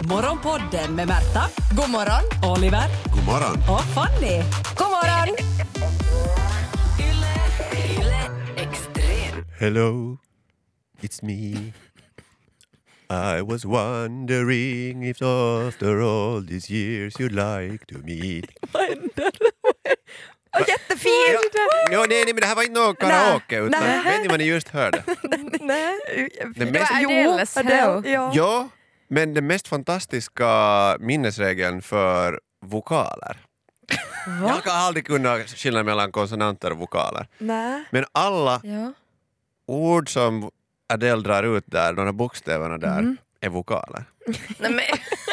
Morgonpodden med Märta, God morgon. Oliver God morgon. och Fanny. God morgon. Hello, it's me. I was wondering if after all these years you'd like to meet. Vad händer? Jättefint. Nej, men det här var inte någon karaoke utan Nej. vet ni vad ni just hörde? Nej. Det mest, Adele's Hello. Ja. ja, men den mest fantastiska minnesregeln för vokaler. Jag kan aldrig kunna skilja mellan konsonanter och vokaler. Nej. Men alla Ja. ord som Adele drar ut där, de här bokstäverna där, är vokaler. Nej, men,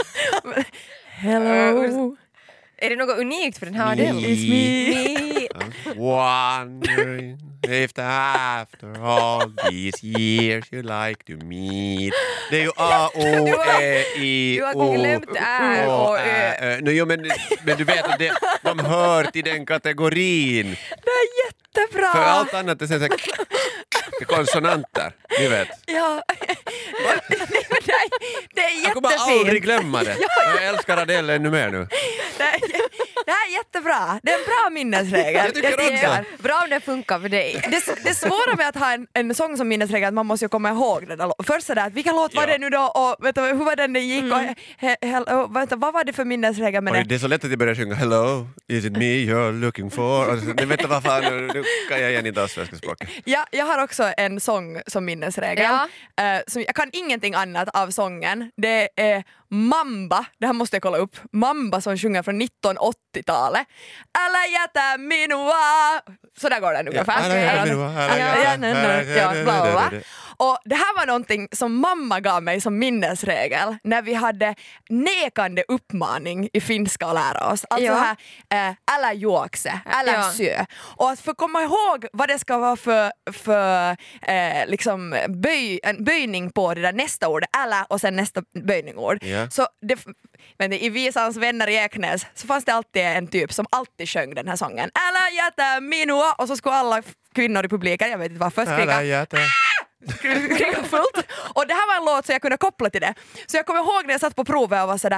Hello. är det något unikt för den här Adele? It's me. Wondering if after all these years you like to meet. Det är ju A, O, E, I, Du har O, glömt Ä och Ö. Jo, men du vet att de hör till den kategorin. Det är jättebra. För allt annat är så här konsonanter, ni vet. Ja. Det är Jag kommer aldrig jättefint. glömma det. Jag älskar Adele ännu mer nu. Det här är jättebra. Det är en bra minnesregel. Jag tycker också. Bra om det funkar för dig. Det svåra med att ha en sång som minnesregel är att man måste ju komma ihåg den. Först sådär, att vilken låt var det nu då och vet du, hur var den gick och vad var det för minnesregel med Oj, det? det är så lätt att jag börjar sjunga Hello, is it me you're looking for? Och så, vet du vad fan, nu kan jag igen inte alls svenska språket. Ja, jag har också en sång som minnesregel. Ja. Som jag kan ingenting annat av sången. Det är Mamba, det här måste jag kolla upp. Mamba som sjunger från 1980-talet. Alla jäta minua. Så där går den ungefär. Alla jäta minua, alla jäta. Ja, bla, bla, bla. Och det här var någonting som mamma gav mig som minnesregel när vi hade nekande uppmaning i finska att lära oss. Alltså Ja. här, alla juokse, alla Ja. sö. Och att få komma ihåg vad det ska vara för liksom en böjning på det där nästa ord, alla och sen nästa böjningord. Ja. Så men i Visans vänner i Eknäs så fanns det alltid en typ som alltid sjöng den här sången. Alla jäta minua, och så skulle alla kvinnor i publiken, jag vet inte varför, skrika Alla jäta. kriga fullt. Och det här var en låt så jag kunde koppla till det. Så jag kommer ihåg när jag satt på provet och var sådär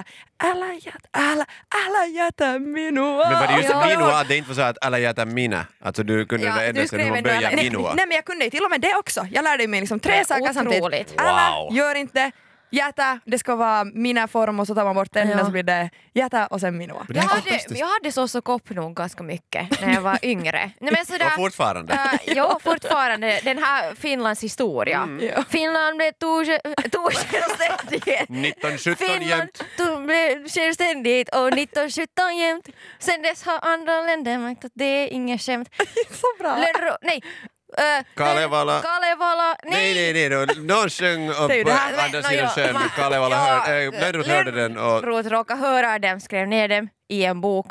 alla jäta minua. Men var det just Ja. minua, att det inte var så att alla jäta mina? Alltså du kunde Ja, det ända du sedan skrev man ändå började alla- minua. Nej, men jag kunde till och med det också. Jag lärde mig liksom Det 3 är saker samtidigt. otroligt. Alla, Wow. gör inte jäta, det ska vara mina form och så tar man bort den Ja. och så blir det jäta och sen minua. Men det är fantastiskt. Jag hade så kopp nog ganska mycket när jag var yngre. Nej, men sådär, Och fortfarande. ja, fortfarande. Den här Finlands historia. Ja. Finland blev självständigt. 1917 Finland jämt. blev självständigt och 1917 jämt. Sen dess har andra länder märkt att det är inget skämt. Så bra. Nej. Kalevala. Kalevala. Nej. Någon sjöng upp Det är ju på det här. andra sidan sjön. Kalevala Lönnroth hörde den och... Lönnroth råkade höra dem, skrev ner dem i en bok.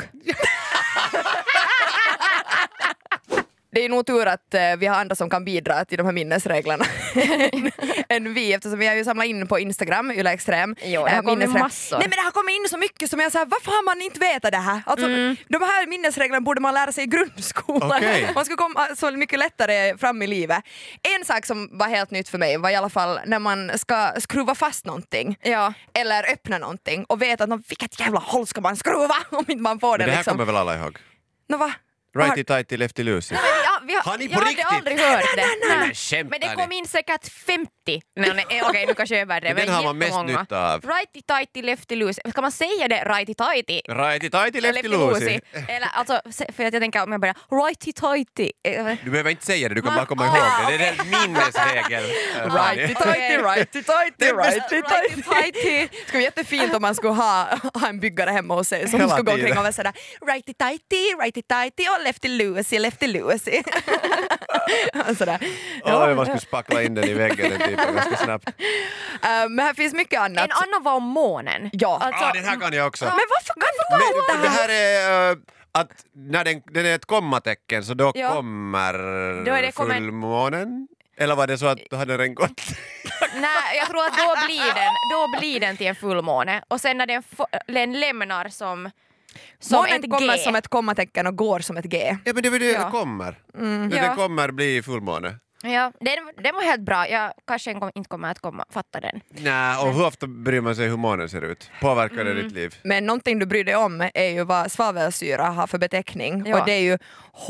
Det är nog tur att vi har andra som kan bidra till de här minnesreglerna än vi, eftersom vi har ju samlat in på Instagram, Yle Extrem. Jo, det har kommit minnesregler. massor. Nej, men det har kommit in så mycket som jag säger, varför har man inte vetat det här? Alltså, de här minnesreglerna borde man lära sig i grundskolan. Okej. Man skulle komma så mycket lättare fram i livet. En sak som var helt nytt för mig var i alla fall när man ska skruva fast någonting. Ja. Eller öppna någonting och veta att vilket jävla håll ska man skruva om inte man får det Men det här liksom. kommer väl alla ihåg? Nå, va? Righty-tighty, lefty-loosey. Har ni på jag hade riktigt? aldrig hört det. Nej, Nej. men skämtar Men det ni? kom in säkert 50. Okej, nu kanske jag överdriver. Men den har man mest jättemånga. nytta av. Righty-tighty, lefty-loosey. Ska man säga det righty-tighty? Righty-tighty, lefty-loosey. Eller alltså, för att jag tänker om jag börjar righty-tighty. Du behöver inte säga det, du kan bara komma ihåg det. Det är en minnesregel. Righty-tighty, righty-tighty, righty-tighty. Righty-tighty. Det skulle vara jättefint om man skulle ha en byggare hemma hos sig som Hela skulle gå tiden. omkring och vara sådär righty-tighty och lefty-loosey. Sådär. Oj, man skulle spackla in den i väggen den typen ganska snabbt. Men här finns mycket annat. En annan var om månen. Ja. Alltså, Den här kan jag också. Men varför kan du Men det här är att när den är ett kommatecken så då Ja. kommer Då är det fullmånen? Eller var det så att då hade den gått? Nej, jag tror att då blir den till en fullmåne. Och sen när den lämnar som Månen ett kommer G. som ett kommatecken och går som ett G. Ja, men det är väl det Ja. det kommer. Ja. Den kommer bli fullmåne. Ja, den var helt bra. Jag kanske inte kommer att fatta den. Nej, och hur ofta bryr man sig hur månen ser ut? Påverkar det ditt liv? Men någonting du bryr dig om är ju vad svavelsyra har för beteckning. Ja. Och det är ju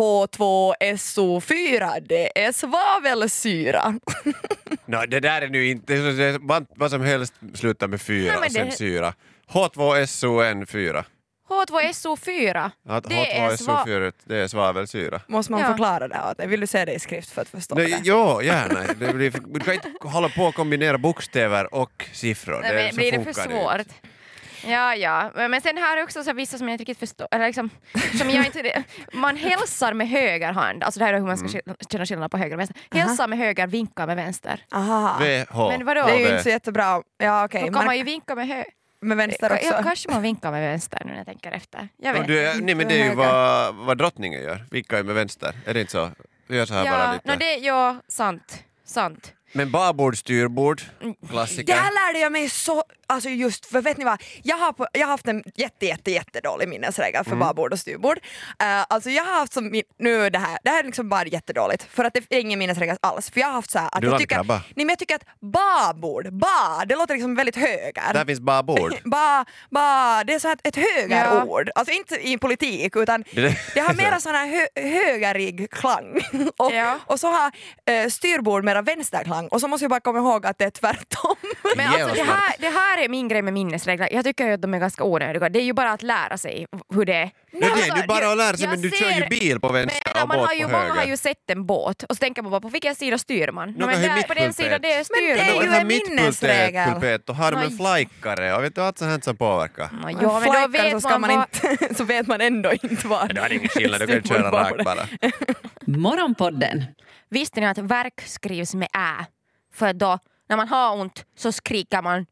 H2SO4, det är svavelsyra. Det där är nu inte... Vad som helst slutar med 4 Nej, men och sen det- syra. H2SON4. H2SO4. Att Det är H2SO4 det är svavelsyra. Måste man Ja. förklara det åt dig? Vill du se det i skrift för att förstå det? Jo, gärna. Du kan inte hålla på att kombinera bokstäver och siffror. Nej, men så blir det för funkar svårt? inte. Ja. Men sen har jag också så vissa som jag inte riktigt förstår. Eller liksom, som jag inte, man hälsar med höger hand. Alltså det här är hur man ska känna skillnad på höger och vänster. Hälsar med höger, vinkar med vänster. Aha. VH. Men vadå? Det är ju V. inte så jättebra. Ja, okej. Då kan man ju vinka med höger. Med vänster också. Ja, kanske man vinkar med vänster nu när jag tänker efter. Jag vet. Nej, men det är ju vad drottningen gör. Vinkar ju med vänster. Är det inte så? Vi gör så här bara lite. Sant. Men babord, styrbord, klassiker. Där lärde jag mig så, alltså just för vet ni vad, jag har haft en jättedålig minnesregel för babord och styrbord. Alltså jag har haft som, nu det här är liksom bara jättedåligt för att det är ingen minnesregel alls. För jag har haft så här att Du jag tycker, landkrabba. nej men jag tycker att babord, det låter liksom väldigt höger. Där finns babord. Det är så här ett högerord. Alltså inte i politik utan det har mera sån här högerig klang. Och så har styrbord mera vänsterklang. Och så måste jag bara komma ihåg att det är tvärtom. Men alltså det här är min grej med minnesregler. Jag tycker ju att de är ganska onödiga. Det är ju bara att lära sig hur det är. Det är ju bara att lära sig, jag men du kör ju ser- bil på vänster och Man båt har ju, på många har höger. ju sett en båt och så tänker man bara på vilken sida styr man? Någon Men har ju där, på den mittpulpet. sidan det är Men det är styr. ju en minnesregel. Pulpet, och har de en Nej. flajkare och vet du allt sånt här som påverkar. Ja, men då Flackar så vet ska man man vad... inte, så vet man ändå inte var. Det har ingen skillnad, du kan ju köra rakt bara. Morgonpodden. Visste ni att verk skrivs med ä? För då, när man har ont så skriker man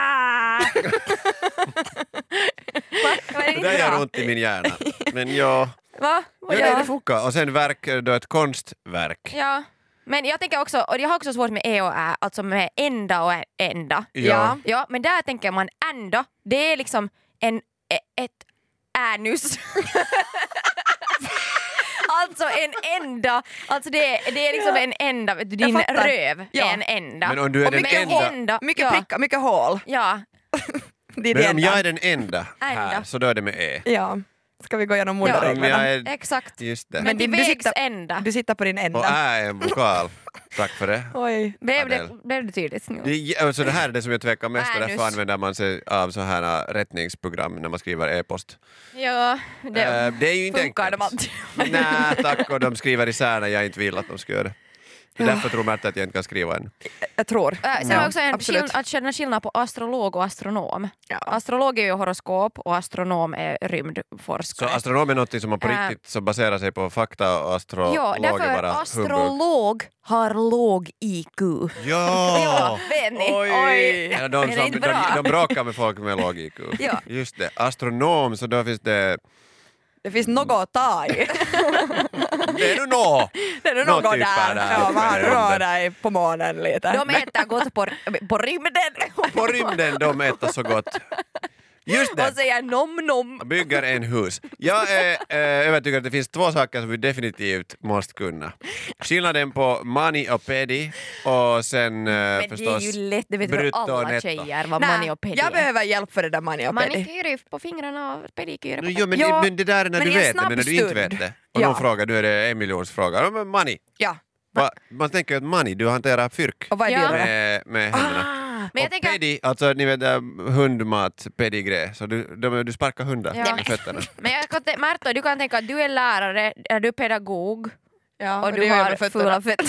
Var det Det inte där gör bra? ont i min hjärna. Men ja, Va? det funkar. Och sen verk, då ett konstverk. Ja. Men jag tänker också, och jag har också svårt med e och ä, alltså med ända och ända. Ja. Ja, men där tänker man ända, det är liksom ett änus. Alltså en ända, alltså det är liksom en ända, din fattar. röv är Ja. en ända. Men om du är Och den mycket enda- ända, Mycket ja. prickar, mycket hål. Ja, Det är Men det om enda. jag är den enda här Ända. så då är det med E. Ja. Ska vi gå igenom Om moderreglerna? jag är... exakt. Just det. Men till du vägs sitter- ända. Du sitter på din Och ända. Ä är en vokal. Tack för det. Oj. Adele. Blev det tydligt nu? Alltså det här är det som jag tvekar mest och Änus. därför använder man sig av så här rättningsprogram när man skriver e-post. Ja, Det är ju inte Funkar de enkelt. alltid? Nej tack, och de skriver isär när jag inte vill att de ska göra det. Det är därför tror Märta att jag inte kan skriva än. Jag tror. Sen har jag också absolut. att känna skillnad på astrolog och astronom. Ja. Astrolog är ju horoskop och astronom är Så rymdforskare. astronom är något som man på riktigt som baserar sig på fakta och astrolog Ja, är därför bara humbug. astrolog har låg IQ. Ja! Vet ni? Oj. Ja, Är det inte bra? de bråkar med folk med låg IQ. Ja. Just det. Astronom, så då finns det... Det finns något att ta i. Det är nu nå! Det är nog Något något typ där. Ja, man där. rör dig på månen lite. De äter gott på rymden På rymden de äter så gott. Just det. och säger nom. Bygger en hus. Jag är övertygad att det finns två saker som vi definitivt måste kunna. Skillnaden på mani och pedi och sen Men det är förstås ju lätt, det vet väl brutto och alla netto. tjejer vad Nej, mani och pedi jag är. behöver hjälp för det där mani och pedi. Manikyr på fingrarna och pedikyr på Jo, men, Ja, men det där är när men du i en vet det, men när du inte snabb vet stund. det. Och Ja. någon frågar, du är det en miljons fråga. Ja, men money. Ja. Man tänker ju att money, du hanterar fyrk Och vad är Ja. det? med händerna. Men jag Och tänker, pedi, alltså ni vet hundmat, pedigré, så du sparkar hundar Ja. med fötterna. men jag kan Märta, du kan tänka att du är lärare, är du pedagog Ja, och det du gör jag har med fötterna. fula fötter.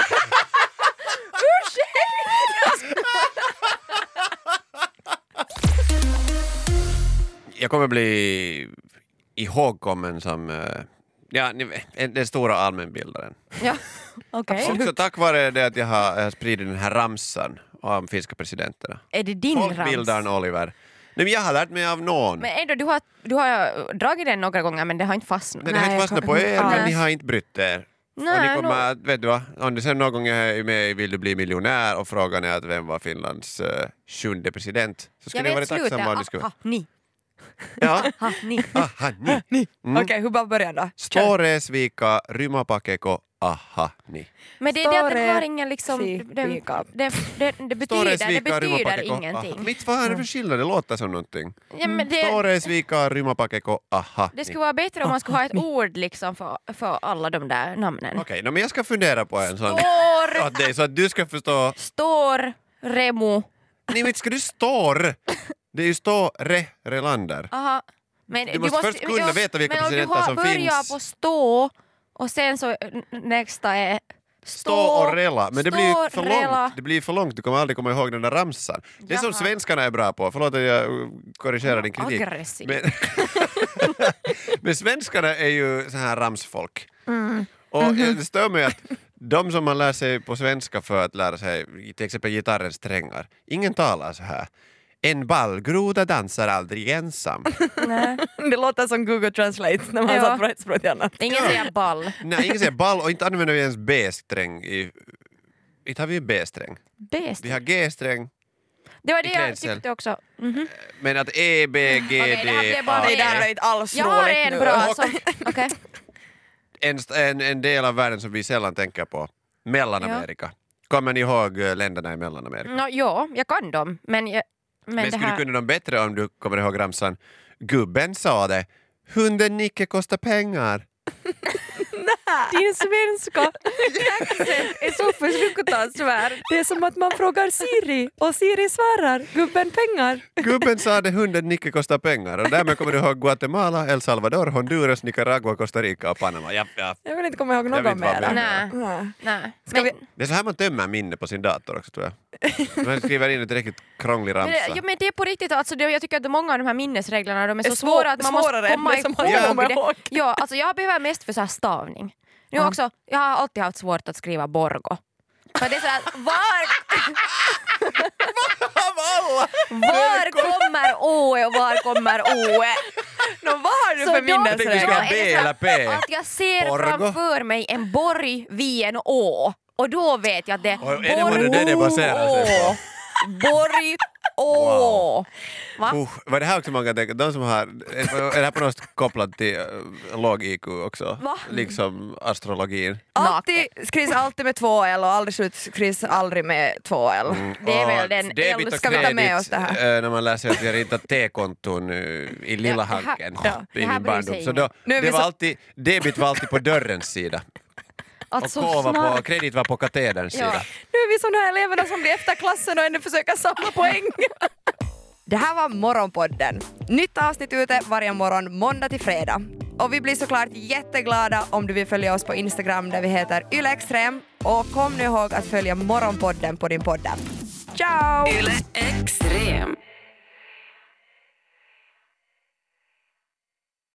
Jag kommer bli ihågkommen som den stora allmänbildaren. Ja, okej. Också tack vare det att jag har spridit den här ramsan om finska presidenterna. Är det din Folkbildaren rams? Oliver. Nej, men jag har lärt mig av någon. Men ändå, du har dragit den några gånger men det har inte fastnat. Den har inte fastnat på er, Ja. men ni har inte brytt er. Och ni Nej, kommer att, vet du vad, om du sen någon gång är med i Vill du bli miljonär och frågan är att vem var Finlands 7:e president, så jag skulle ni vara vet tacksamma om ni slutet. skulle... Ni. Ja, Ha, ni. aha, ni. Okej, hur bara börjar då? Storesvika, Rymapakeko, aha, ni. Men det är det att den har ingen liksom... Det betyder ingenting. Mitt vad är det för skillnad? Det låter som någonting. Ja, men Store svika rymapakeko, aha. Det skulle vara bättre om man skulle ha ett ord liksom för alla de där namnen. Okej, men jag ska fundera på en sån. Att det är så att du ska förstå. Stor, Remo. Nej, men ska du står? Det är ju Relander. Aha. Men du måste först kunna veta vilka presidenter som finns. Men om du börjar på stå och sen så nästa är stå och rela. Men det blir för långt. Det blir för långt. Du kommer aldrig komma ihåg den där ramsan. Det är som svenskarna är bra på. Förlåt att jag korrigerar din kritik. Aggressiv. Men svenskarna är ju så här ramsfolk. Och det stör mig att de som man lär sig på svenska för att lära sig till exempel gitarrens strängar. Ingen talar så här. En ballgroda dansar aldrig ensam. Det låter som Google Translate när man har satt på ett språk till annat. Ingen säger ball. Nej, ingen säger ball och inte använder vi ens B-sträng. Inte har vi B-sträng. Vi har G-sträng. Det var det jag tyckte också. Men att E, B, G, D, A. Det där är inte alls roligt. Jag har en bra som... Okej. En del av världen som vi sällan tänker på. Mellanamerika. Kommer ni ihåg länderna i Mellanamerika? Ja, jag kan dem. Men skulle du kunna dem bättre om du kommer ihåg ramsan? Gubben sa det. Hunden Nicke kostar pengar. Din svenska accent är så fruktansvärd. Det är som att man frågar Siri och Siri svarar gubben pengar. Gubben sa det, hunden Nicke kostar pengar. Och därmed kommer du ihåg Guatemala, El Salvador, Honduras, Nicaragua, Costa Rica och Panama. Ja. Jag vill inte komma ihåg någon mer. Nej. Det är så här man tömmer minne på sin dator också, tror jag. Man skriver in ett riktigt krånglig ramsa. Men det är på riktigt, alltså, jag tycker att många av de här minnesreglerna de är så svåra att man måste komma ihåg. Ja, alltså jag behöver mest för så här stavning. Nu också, jag har alltid haft svårt att skriva Borgo. För det är så här, var kommer Å och var kommer Oe? Vad har du för minnesregler? Du ska B eller P. Att jag ser framför mig en borg vid en å. Och då vet jag att det är det baserar sig på. Borg Å. Wow. Var det här också många tänker? De som har, är det här på något sätt kopplat till låg IQ också? Va? Liksom astrologin. Skrivs alltid med 2L och aldrig slut skrivs aldrig med 2L. Det är väl den debit och ska vi ta med oss det här? När man läser att vi har ritat T-konton i lilla hanken i min barndom. Så då, debit var alltid på dörrens sida. Alltså, och kredit var på katederns sida. Nu är vi som de här eleverna som blir efter klassen och ändå försöker samla poäng. Det här var Morgonpodden. Nytt avsnitt ute varje morgon måndag till fredag. Och vi blir såklart jätteglada om du vill följa oss på Instagram där vi heter YleExtrem. Och kom nu ihåg att följa Morgonpodden på din podd. Ciao! Yle Extrem.